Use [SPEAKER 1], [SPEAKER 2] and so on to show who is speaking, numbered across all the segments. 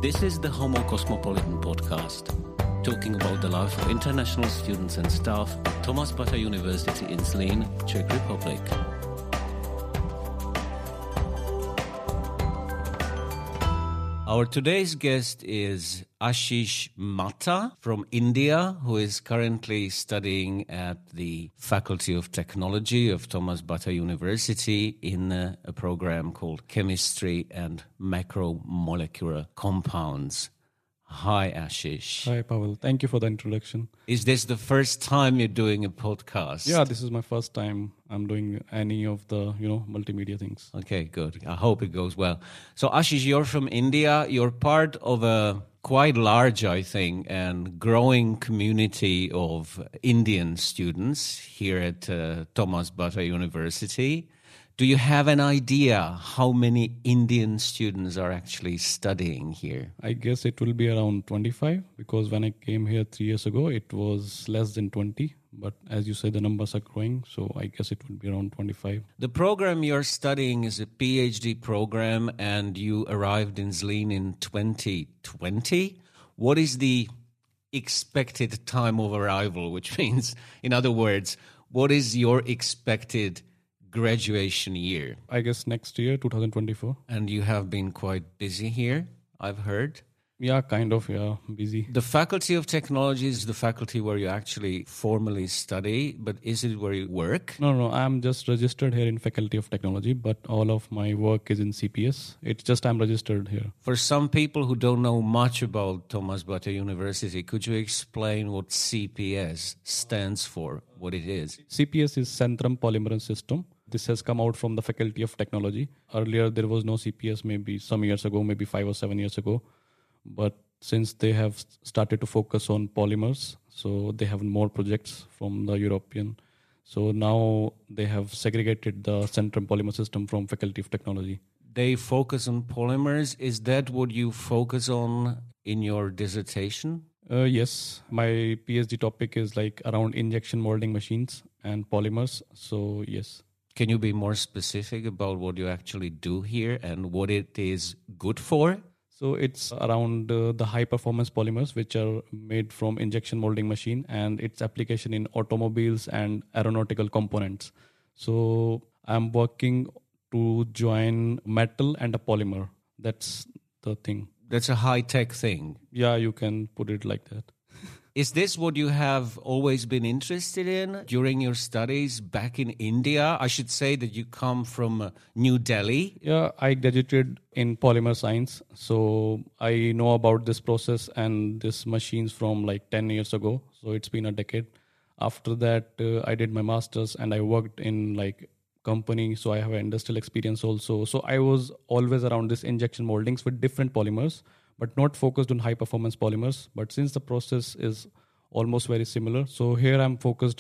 [SPEAKER 1] This is the Homo Cosmopolitan podcast, talking about the life of international students and staff at Thomas Bata University in Zlín, Czech Republic. Our today's guest is Ashish Matta from India, who is currently studying at the Faculty of Technology of Thomas Bata University in a program called Chemistry and Macromolecular Compounds. Hi, Ashish.
[SPEAKER 2] Hi, Pavel. Thank you for the introduction.
[SPEAKER 1] Is this the first time you're doing a podcast?
[SPEAKER 2] Yeah, this is my first time I'm doing any of the, multimedia things.
[SPEAKER 1] Okay, good. I hope it goes well. So, Ashish, you're from India. You're part of a quite large, I think, and growing community of Indian students here at Thomas Bata University. Do you have an idea how many Indian students are actually studying here?
[SPEAKER 2] I guess it will be around 25 because when I came here 3 years ago, it was less than 20. But as you say, the numbers are growing, so I guess it will be around 25.
[SPEAKER 1] The program you're studying is a PhD program, and you arrived in Zlín in 2020. What is the expected time of arrival, which means, in other words, what is your expected graduation year?
[SPEAKER 2] I guess next year, 2024.
[SPEAKER 1] And you have been quite busy here, I've heard.
[SPEAKER 2] Yeah, kind of, busy.
[SPEAKER 1] The Faculty of Technology is the faculty where you actually formally study, but is it where you work?
[SPEAKER 2] No, I'm just registered here in Faculty of Technology, but all of my work is in CPS. It's just I'm registered here.
[SPEAKER 1] For some people who don't know much about Thomas Bata University, could you explain what CPS stands for, what it is?
[SPEAKER 2] CPS is Centrum Polymerase System. This has come out from the Faculty of Technology. Earlier, there was no CPS, maybe some years ago, maybe 5 or 7 years ago. But since they have started to focus on polymers, so they have more projects from the European. So now they have segregated the Centrum Polymer System from Faculty of Technology.
[SPEAKER 1] They focus on polymers. Is that what you focus on in your dissertation?
[SPEAKER 2] Yes, my PhD topic is like around injection molding machines and polymers. So yes.
[SPEAKER 1] Can you be more specific about what you actually do here and what it is good for?
[SPEAKER 2] So it's around the high-performance polymers, which are made from injection molding machine, and its application in automobiles and aeronautical components. So I'm working to join metal and a polymer. That's the thing.
[SPEAKER 1] That's a high-tech thing.
[SPEAKER 2] Yeah, you can put it like that.
[SPEAKER 1] Is this what you have always been interested in during your studies back in India? I should say that you come from New Delhi.
[SPEAKER 2] Yeah, I graduated in polymer science. So I know about this process and these machines from like 10 years ago. So it's been a decade. After that, I did my master's and I worked in like company. So I have an industrial experience also. So I was always around this injection moldings with different polymers, but not focused on high-performance polymers. But since the process is almost very similar, so here I'm focused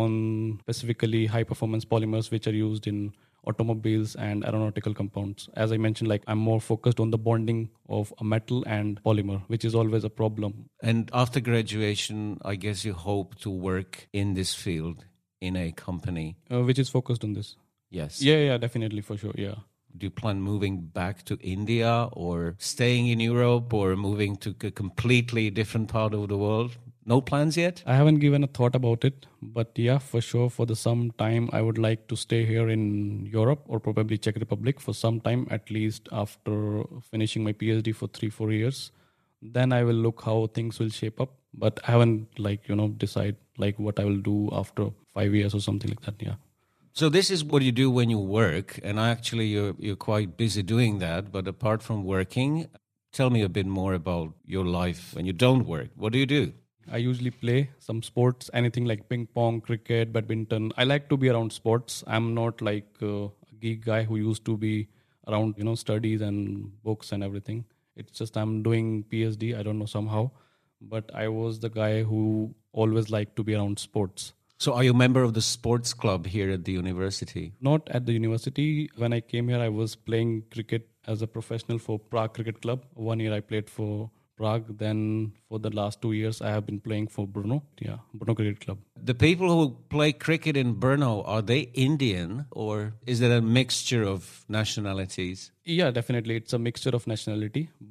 [SPEAKER 2] on specifically high-performance polymers, which are used in automobiles and aeronautical compounds. As I mentioned, like I'm more focused on the bonding of a metal and polymer, which is always a problem.
[SPEAKER 1] And after graduation, I guess you hope to work in this field in a company.
[SPEAKER 2] Which is focused on this.
[SPEAKER 1] Yes.
[SPEAKER 2] Yeah, definitely, for sure, yeah.
[SPEAKER 1] Do you plan moving back to India or staying in Europe or moving to a completely different part of the world? No plans yet?
[SPEAKER 2] I haven't given a thought about it, but yeah, for sure, for some time, I would like to stay here in Europe or probably Czech Republic for some time, at least after finishing my PhD for 3-4 years. Then I will look how things will shape up, but I haven't decide what I will do after 5 years or something like that, yeah.
[SPEAKER 1] So this is what you do when you work, and actually you're quite busy doing that. But apart from working, tell me a bit more about your life when you don't work. What do you do?
[SPEAKER 2] I usually play some sports, anything like ping pong, cricket, badminton. I like to be around sports. I'm not like a geek guy who used to be around, studies and books and everything. It's just I'm doing PhD, I don't know somehow. But I was the guy who always liked to be around sports.
[SPEAKER 1] So are you a member of the sports club here at the university?
[SPEAKER 2] Not at the university. When I came here, I was playing cricket as a professional for Prague Cricket Club. 1 year I played for Prague. Then for the last 2 years, I have been playing for Brno. Yeah, Brno Cricket Club.
[SPEAKER 1] The people who play cricket in Brno, are they Indian or is it a mixture of nationalities?
[SPEAKER 2] Yeah, definitely. It's a mixture of nationality. But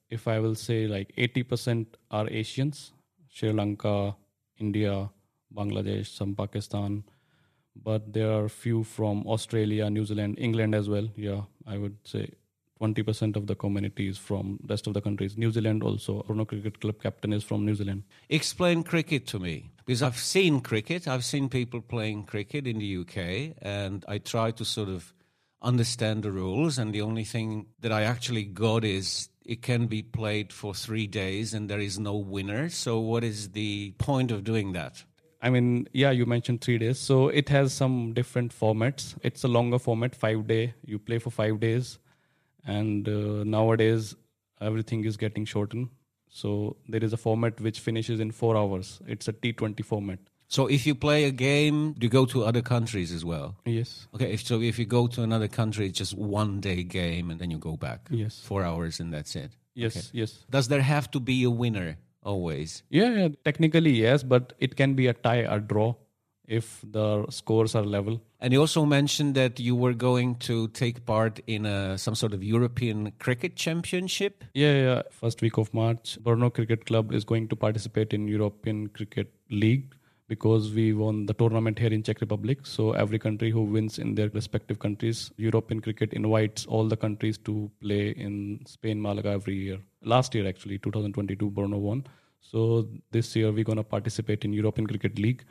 [SPEAKER 2] if I will say like 80% are Asians, Sri Lanka, India, Bangladesh, some Pakistan, but there are few from Australia, New Zealand, England as well. Yeah, I would say 20% of the community is from rest of the countries. New Zealand also. Bruno Cricket Club captain is from New Zealand.
[SPEAKER 1] Explain cricket to me, because I've seen cricket. I've seen people playing cricket in the UK, and I try to sort of understand the rules. And the only thing that I actually got is it can be played for 3 days and there is no winner. So what is the point of doing that?
[SPEAKER 2] I mean, yeah, you mentioned 3 days. So it has some different formats. It's a longer format, 5 day. You play for 5 days. And nowadays, everything is getting shortened. So there is a format which finishes in 4 hours. It's a T20 format.
[SPEAKER 1] So if you play a game, do you go to other countries as well?
[SPEAKER 2] Yes.
[SPEAKER 1] Okay, so if you go to another country, it's just 1 day game and then you go back.
[SPEAKER 2] Yes.
[SPEAKER 1] 4 hours and that's it.
[SPEAKER 2] Yes,
[SPEAKER 1] Okay.
[SPEAKER 2] yes.
[SPEAKER 1] Does there have to be a winner always?
[SPEAKER 2] Yeah, technically yes, but it can be a tie, a draw, if the scores are level.
[SPEAKER 1] And you also mentioned that you were going to take part in some sort of European cricket championship.
[SPEAKER 2] Yeah. First week of March, Brno Cricket Club is going to participate in European Cricket League because we won the tournament here in Czech Republic. So every country who wins in their respective countries, European Cricket invites all the countries to play in Spain, Malaga every year. Last year, actually, 2022, Brno won. So this year, we're going to participate in European Cricket League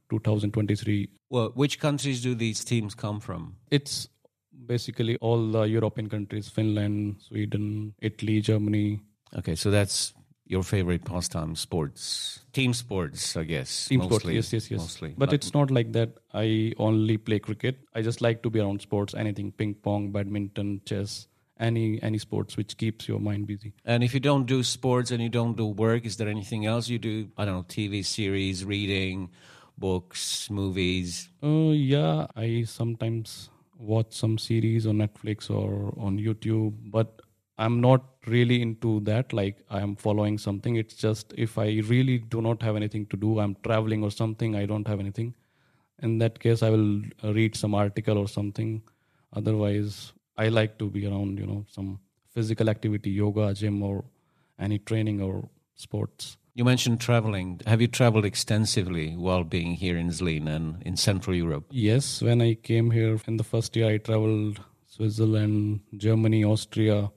[SPEAKER 2] 2023.
[SPEAKER 1] Well, which countries do these teams come from?
[SPEAKER 2] It's basically all the European countries, Finland, Sweden, Italy, Germany.
[SPEAKER 1] Okay, so that's your favorite pastime, sports. Team sports, I guess.
[SPEAKER 2] Team
[SPEAKER 1] mostly,
[SPEAKER 2] sports, yes.
[SPEAKER 1] Mostly.
[SPEAKER 2] But it's not like that I only play cricket. I just like to be around sports, anything, ping pong, badminton, chess, any sports which keeps your mind busy.
[SPEAKER 1] And if you don't do sports and you don't do work, is there anything else you do? I don't know, TV series, reading, books, movies?
[SPEAKER 2] Yeah, I sometimes watch some series on Netflix or on YouTube, but I'm not really into that. Like I am following something. It's just if I really do not have anything to do, I'm traveling or something, I don't have anything. In that case, I will read some article or something. Otherwise, I like to be around, some physical activity, yoga, gym, or any training or sports.
[SPEAKER 1] You mentioned traveling. Have you traveled extensively while being here in Zlín and in Central Europe?
[SPEAKER 2] Yes, when I came here in the first year, I traveled Switzerland, Germany, Austria,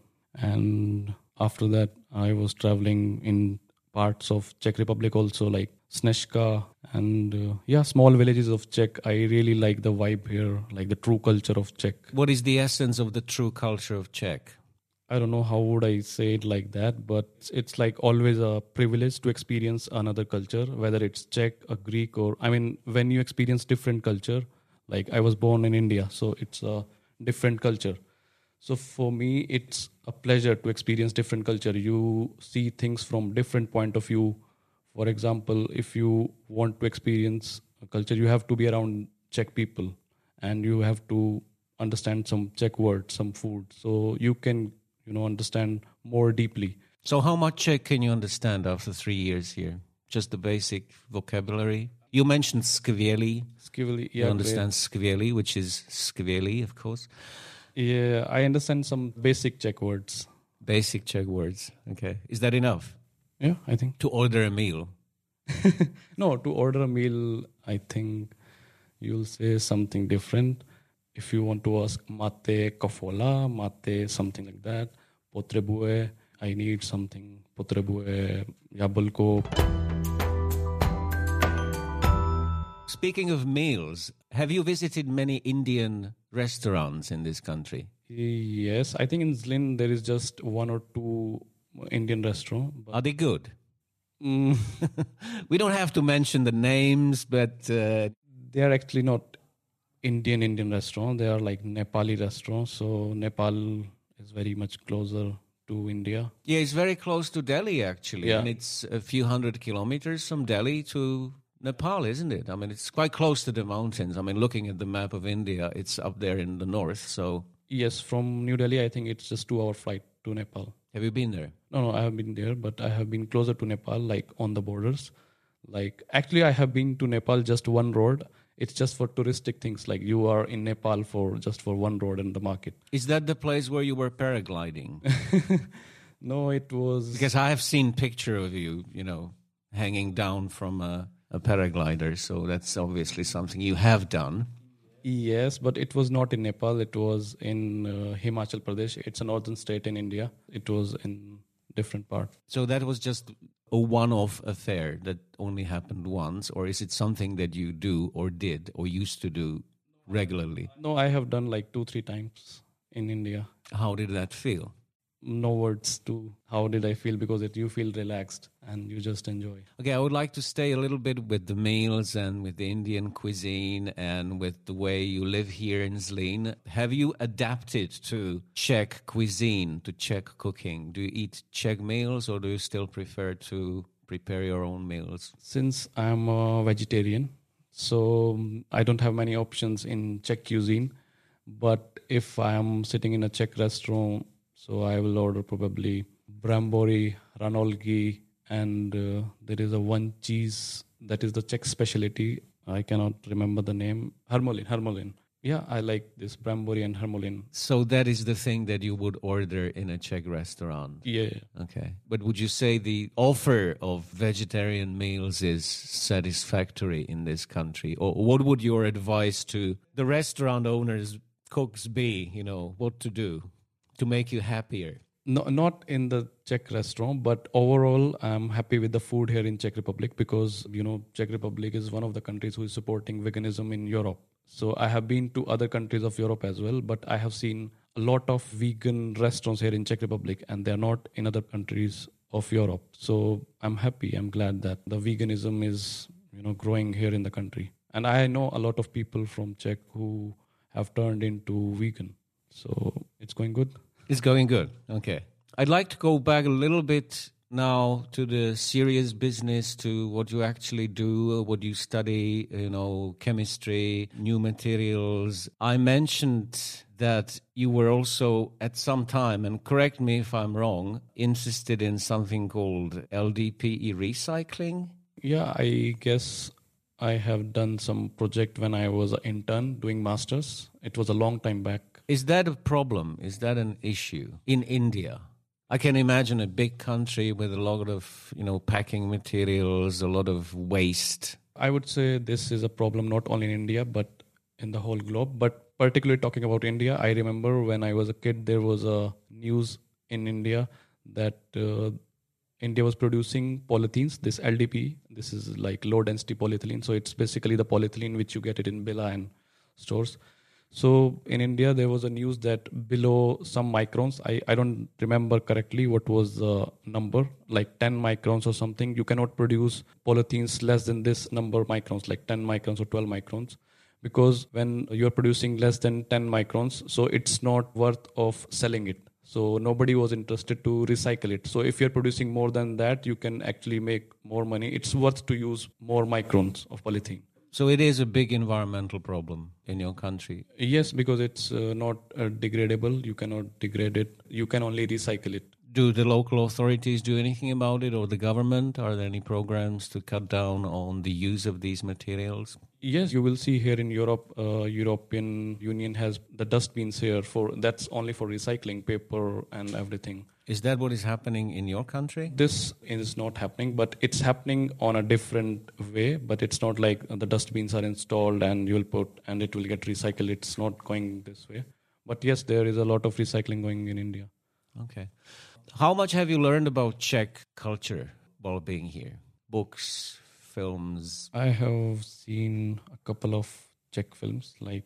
[SPEAKER 2] and after that, I was traveling in parts of Czech Republic also, like Snezka and small villages of Czech. I really like the vibe here, like the true culture of Czech.
[SPEAKER 1] What is the essence of the true culture of Czech?
[SPEAKER 2] I don't know how would I say it like that, but it's like always a privilege to experience another culture, whether it's Czech, a Greek, or when you experience different culture, like I was born in India, so it's a different culture. So for me, it's a pleasure to experience different culture. You see things from different point of view. For example, if you want to experience a culture, you have to be around Czech people and you have to understand some Czech words, some food. So you can, understand more deeply.
[SPEAKER 1] So how much Czech can you understand after 3 years here? Just the basic vocabulary? You mentioned skvělý.
[SPEAKER 2] Skvělý, yeah.
[SPEAKER 1] You understand skvělý, which is skvělý, of course.
[SPEAKER 2] Yeah, I understand some basic Czech words.
[SPEAKER 1] Basic Czech words. Okay. Is that enough?
[SPEAKER 2] Yeah, I think.
[SPEAKER 1] To order a meal?
[SPEAKER 2] No, to order a meal, I think you'll say something different. If you want to ask mate kafola, mate something like that, potrebuje, I need something, potrebuje jablko.
[SPEAKER 1] Speaking of meals, have you visited many Indian restaurants in this country?
[SPEAKER 2] Yes, I think in Zlín there is just 1 or 2 Indian restaurants.
[SPEAKER 1] Are they good? We don't have to mention the names, but...
[SPEAKER 2] They are actually not Indian restaurants. They are like Nepali restaurants. So Nepal is very much closer to India.
[SPEAKER 1] Yeah, it's very close to Delhi, actually.
[SPEAKER 2] Yeah.
[SPEAKER 1] And it's a few hundred kilometers from Delhi to Nepal, isn't it? It's quite close to the mountains. Looking at the map of India, it's up there in the north, so...
[SPEAKER 2] Yes, from New Delhi, I think it's just 2-hour flight to Nepal.
[SPEAKER 1] Have you been there?
[SPEAKER 2] No, I have been there, but I have been closer to Nepal, like on the borders. Like, actually, I have been to Nepal just one road. It's just for touristic things. Like you are in Nepal for one road and the market.
[SPEAKER 1] Is that the place where you were paragliding?
[SPEAKER 2] No, it was...
[SPEAKER 1] Because I have seen picture of you, hanging down from a paraglider. So that's obviously something you have done.
[SPEAKER 2] Yes, but it was not in Nepal. It was in Himachal Pradesh. It's a northern state in India. It was in different part.
[SPEAKER 1] So that was just a one-off affair that only happened once, or is it something that you do or did or used to do regularly?
[SPEAKER 2] No, I have done like 2-3 times in India.
[SPEAKER 1] How did that feel?
[SPEAKER 2] No words to how did I feel, because you feel relaxed and you just enjoy.
[SPEAKER 1] Okay, I would like to stay a little bit with the meals and with the Indian cuisine and with the way you live here in Zlín. Have you adapted to Czech cuisine, to Czech cooking? Do you eat Czech meals or do you still prefer to prepare your own meals?
[SPEAKER 2] Since I'm a vegetarian, so I don't have many options in Czech cuisine. But if I am sitting in a Czech restaurant, so I will order probably brambori, ranolgi, and there is a one cheese that is the Czech specialty. I cannot remember the name. Hermolin. Yeah, I like this brambori and hermolin.
[SPEAKER 1] So that is the thing that you would order in a Czech restaurant?
[SPEAKER 2] Yeah.
[SPEAKER 1] Okay. But would you say the offer of vegetarian meals is satisfactory in this country? Or what would your advice to the restaurant owners, cooks be, what to do to make you happier?
[SPEAKER 2] No, not in the Czech restaurant, but overall, I'm happy with the food here in Czech Republic because, Czech Republic is one of the countries who is supporting veganism in Europe. So I have been to other countries of Europe as well, but I have seen a lot of vegan restaurants here in Czech Republic, and they're not in other countries of Europe. So I'm happy. I'm glad that the veganism is, growing here in the country. And I know a lot of people from Czech who have turned into vegan. So it's going good.
[SPEAKER 1] It's going good. Okay. I'd like to go back a little bit now to the serious business, to what you actually do, what you study, chemistry, new materials. I mentioned that you were also at some time, and correct me if I'm wrong, interested in something called LDPE recycling.
[SPEAKER 2] Yeah, I guess I have done some project when I was an intern doing masters. It was a long time back.
[SPEAKER 1] Is that a problem? Is that an issue in India? I can imagine a big country with a lot of, packing materials, a lot of waste.
[SPEAKER 2] I would say this is a problem not only in India, but in the whole globe. But particularly talking about India, I remember when I was a kid, there was a news in India that India was producing polythenes, this LDPE. This is like low density polyethylene. So it's basically the polyethylene which you get it in Billa and stores. So in India, there was a news that below some microns, I don't remember correctly what was the number, like 10 microns or something. You cannot produce polythenes less than this number of microns, like 10 microns or 12 microns. Because when you're producing less than 10 microns, so it's not worth of selling it. So nobody was interested to recycle it. So if you're producing more than that, you can actually make more money. It's worth to use more microns of polythene.
[SPEAKER 1] So it is a big environmental problem in your country.
[SPEAKER 2] Yes, because it's not degradable. You cannot degrade it. You can only recycle it.
[SPEAKER 1] Do the local authorities do anything about it, or the government? Are there any programs to cut down on the use of these materials?
[SPEAKER 2] Yes, you will see here in Europe, European Union has the dustbins here that's only for recycling paper and everything.
[SPEAKER 1] Is that what is happening in your country?
[SPEAKER 2] This is not happening, but it's happening on a different way. But it's not like the dustbins are installed and you'll put and it will get recycled. It's not going this way. But yes, there is a lot of recycling going in India.
[SPEAKER 1] Okay. How much have you learned about Czech culture while being here? Books, films?
[SPEAKER 2] I have seen a couple of Czech films, like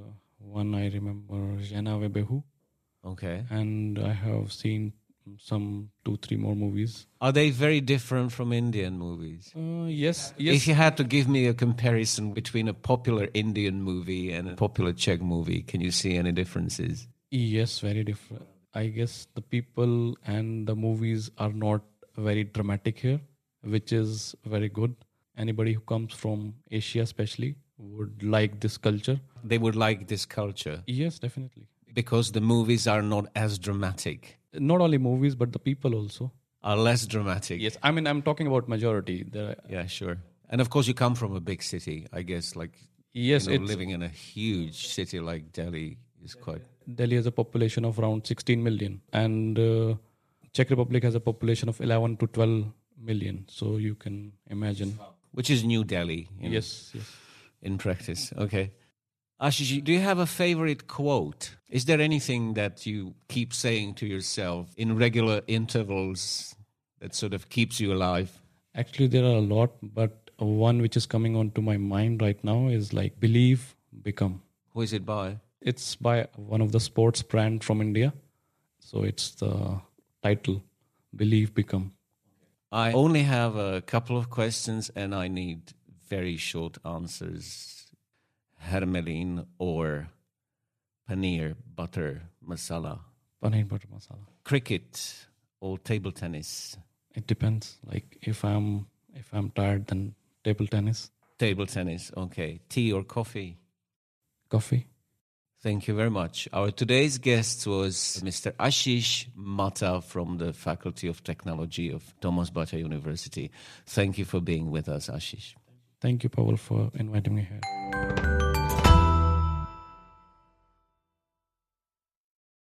[SPEAKER 2] one I remember, Žena ve běhu.
[SPEAKER 1] Okay.
[SPEAKER 2] And I have seen some 2-3 more movies.
[SPEAKER 1] Are they very different from Indian movies?
[SPEAKER 2] Yes.
[SPEAKER 1] If you had to give me a comparison between a popular Indian movie and a popular Czech movie, can you see any differences?
[SPEAKER 2] Yes, very different. I guess the people and the movies are not very dramatic here, which is very good. Anybody who comes from Asia especially would like this culture.
[SPEAKER 1] They would like this culture?
[SPEAKER 2] Yes, definitely.
[SPEAKER 1] Because the movies are not as dramatic?
[SPEAKER 2] Not only movies, but the people also.
[SPEAKER 1] Are less dramatic?
[SPEAKER 2] Yes, I mean, I'm talking about majority.
[SPEAKER 1] Yeah, sure. And of course you come from a big city, I guess, like
[SPEAKER 2] yes,
[SPEAKER 1] living in a huge city like Delhi is quite...
[SPEAKER 2] Delhi has a population of around 16 million. And Czech Republic has a population of 11 to 12 million. So you can imagine.
[SPEAKER 1] Which is New Delhi.
[SPEAKER 2] Yes.
[SPEAKER 1] In practice. Okay. Ashish, do you have a favorite quote? Is there anything that you keep saying to yourself in regular intervals that sort of keeps you alive?
[SPEAKER 2] Actually, there are a lot, but one which is coming onto my mind right now is like believe, become.
[SPEAKER 1] Who is it by?
[SPEAKER 2] It's by one of the sports brand from India. So it's the title, Believe, Become.
[SPEAKER 1] I only have a couple of questions and I need very short answers. Hermelin or paneer butter masala?
[SPEAKER 2] Paneer butter masala.
[SPEAKER 1] Cricket or table tennis?
[SPEAKER 2] It depends. Like if I'm tired, then table tennis.
[SPEAKER 1] Table tennis, okay. Tea or coffee?
[SPEAKER 2] Coffee.
[SPEAKER 1] Thank you very much. Our today's guest was Mr. Ashish Mata from the Faculty of Technology of Thomas Bata University. Thank you for being with us, Ashish.
[SPEAKER 2] Thank you, Pavel, for inviting me here.